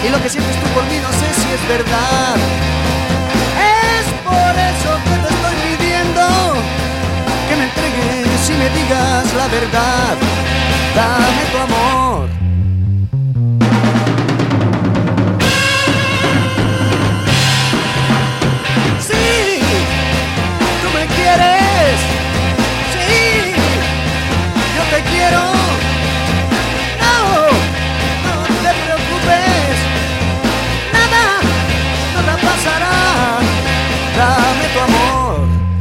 Y lo que sientes tú por mí no sé si es verdad. Es por eso que te estoy pidiendo que me entregues y me digas la verdad. Dame tu amor. Sí, tú me quieres. Sí, yo te quiero. No, no te preocupes. Nada pasará. Dame tu amor.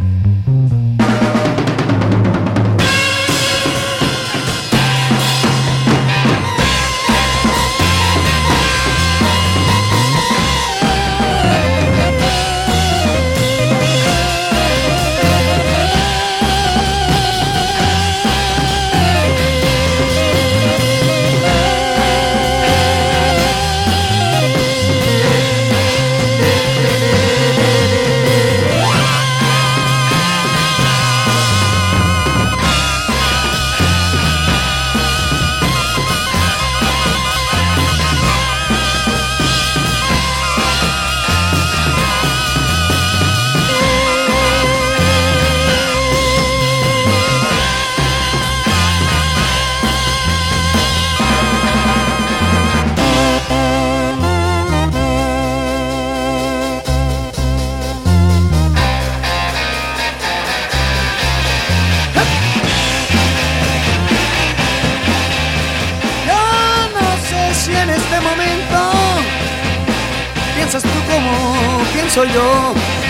Piensas tú como pienso yo.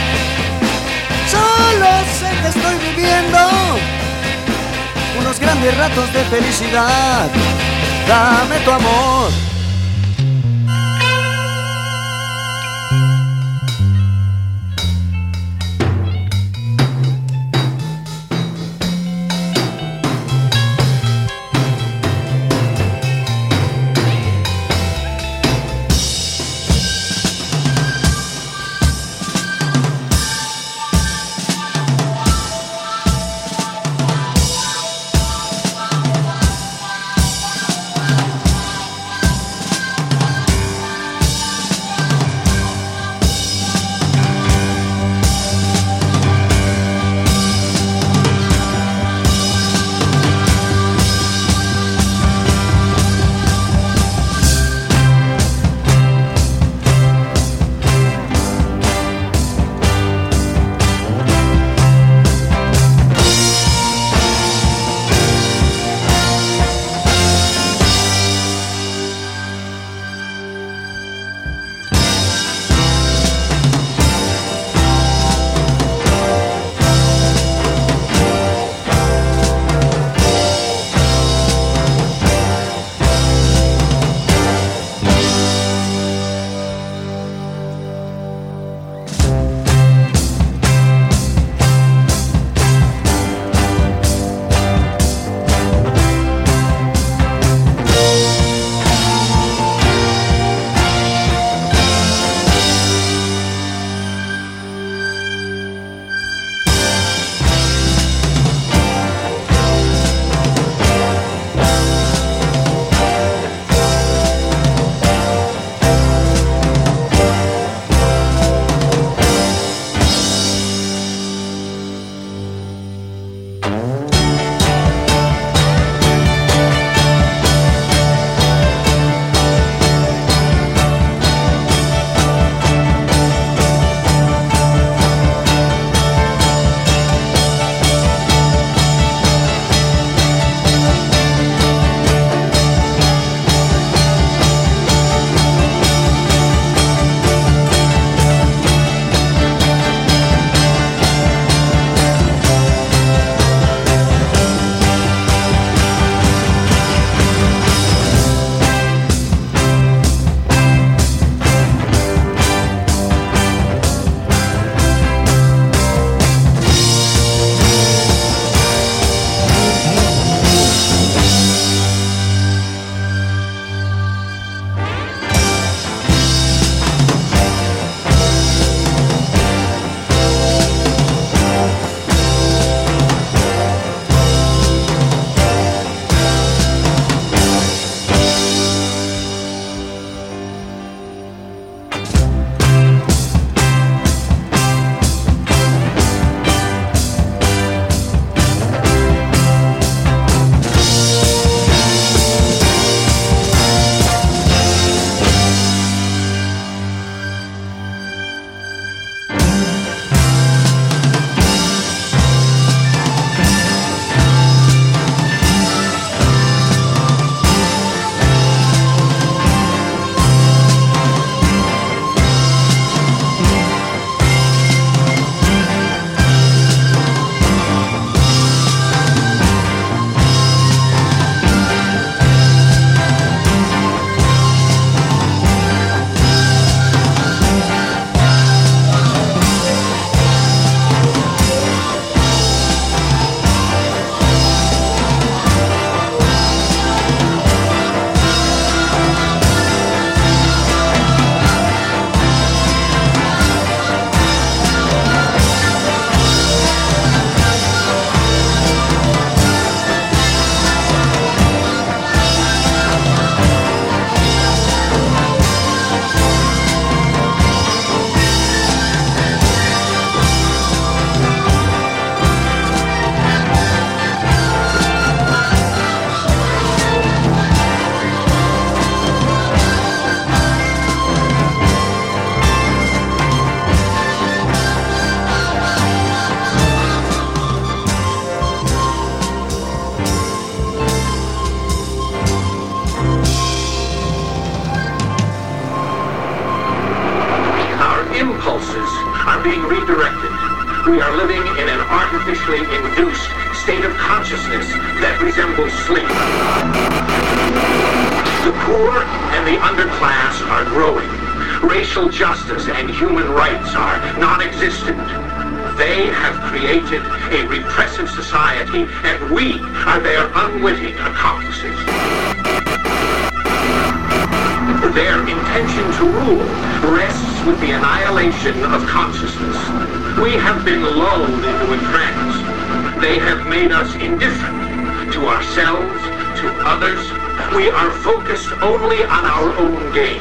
Solo sé que estoy viviendo unos grandes ratos de felicidad. Dame tu amor. We are living in an artificially induced state of consciousness that resembles sleep. The poor and the underclass are growing. Racial justice and human rights are non-existent. They have created a repressive society, and we are their unwitting accomplices. Their intention to rule rests with the annihilation of consciousness. We have been lulled into a trance. They have made us indifferent to ourselves, to others. We are focused only on our own gain.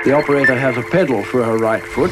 The operator has a pedal for her right foot.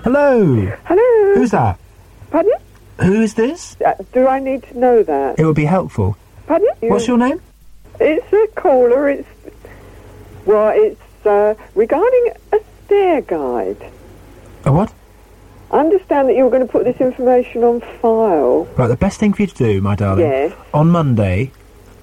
Hello. Hello. Who's that? Pardon? Who is this? Do I need to know that? It would be helpful. Pardon? What's your name? It's a caller. It's regarding a stair guide. A what? I understand that you were going to put this information on file. Right, the best thing for you to do, my darling, Yes. on Monday,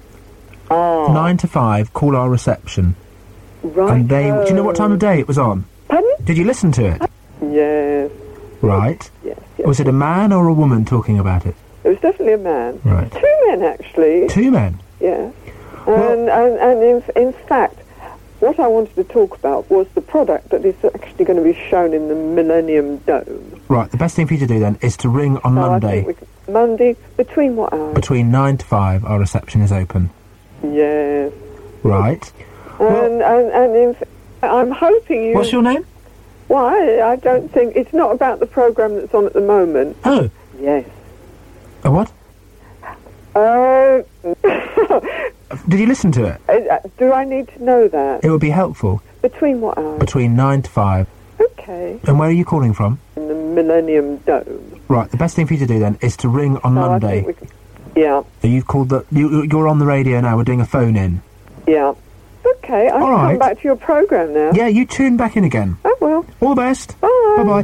9 to 5, call our reception. Right. And do you know what time of day it was on? Pardon? Did you listen to it? Yes. Right. Yes. Was it a man or a woman talking about it? It was definitely a man. Right. 2 men, actually. 2 men? Yeah. Well- And in fact, what I wanted to talk about was the product that is actually going to be shown in the Millennium Dome. Right, the best thing for you to do then is to ring on So I Monday. think Monday, between what hours? Between 9 to 5, our reception is open. Yes. Right. I'm hoping you... What's your name? Why? I don't think... It's not about the programme that's on at the moment. Oh. Yes. A what? Did you listen to it? Do I need to know that? It would be helpful. Between what hours? Between 9 to 5. Okay. And where are you calling from? In the Millennium Dome. Right, the best thing for you to do then is to ring on So I Monday. think yeah. So you've called you're on the radio now, we're doing a phone-in. Yeah. Okay, I'll All come right. back to your programme now. Yeah, you tune back in again. I will. All the best. Bye. Bye-bye.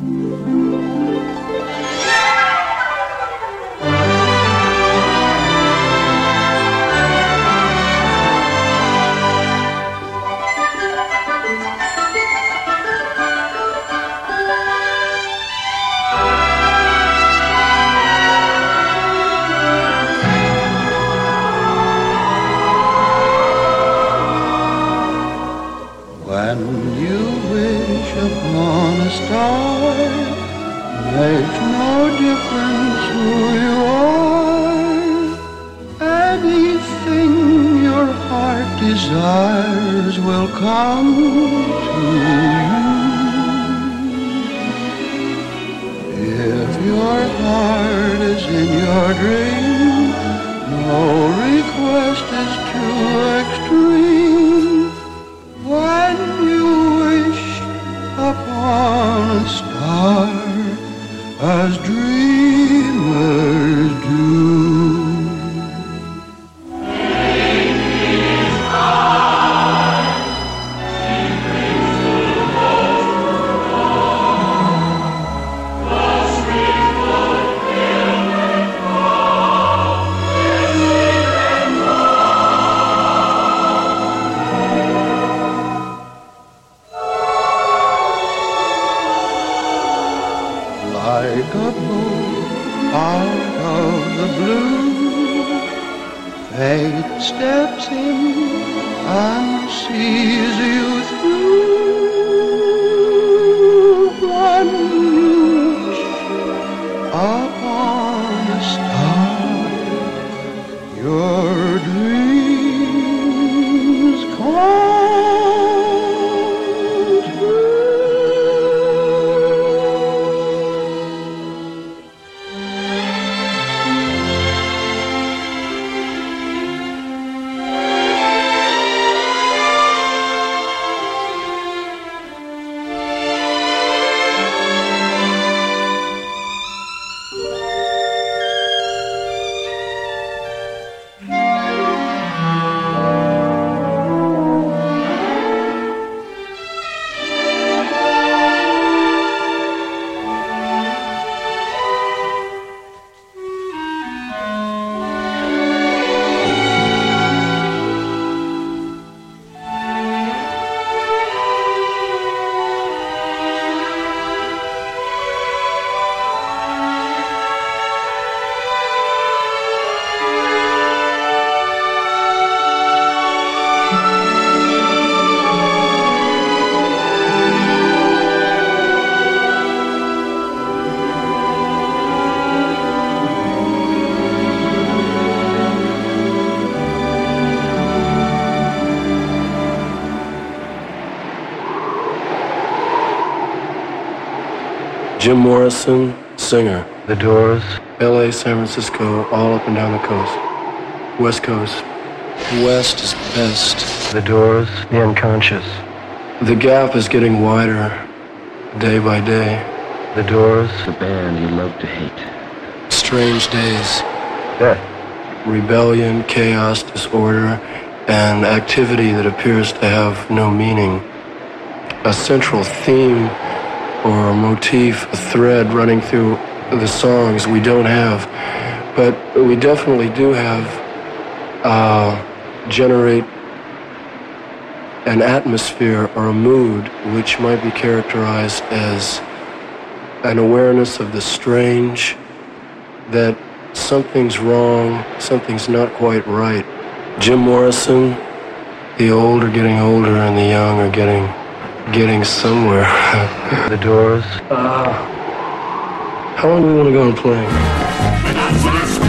When you wish upon a star, makes no difference who you are. Anything your heart desires will come to you. If your heart is in your dream, no request is too extreme. When you wish upon a star, as dreamers do. Like a bolt out of the blue, fate steps in and sees you through. When you wish upon a star, your dreams come true. Jim Morrison, singer. The Doors. L.A., San Francisco, all up and down the coast. West Coast. West is best. The Doors. The Unconscious. The gap is getting wider day by day. The Doors. The band you love to hate. Strange Days. Death. Rebellion, chaos, disorder, and activity that appears to have no meaning. A central theme or a motif, a thread running through the songs we don't have, but we definitely do have generate an atmosphere or a mood which might be characterized as an awareness of the strange, that something's wrong, something's not quite right. Jim Morrison, the old are getting older and the young are getting somewhere. The Doors. How long do we want to go on playing?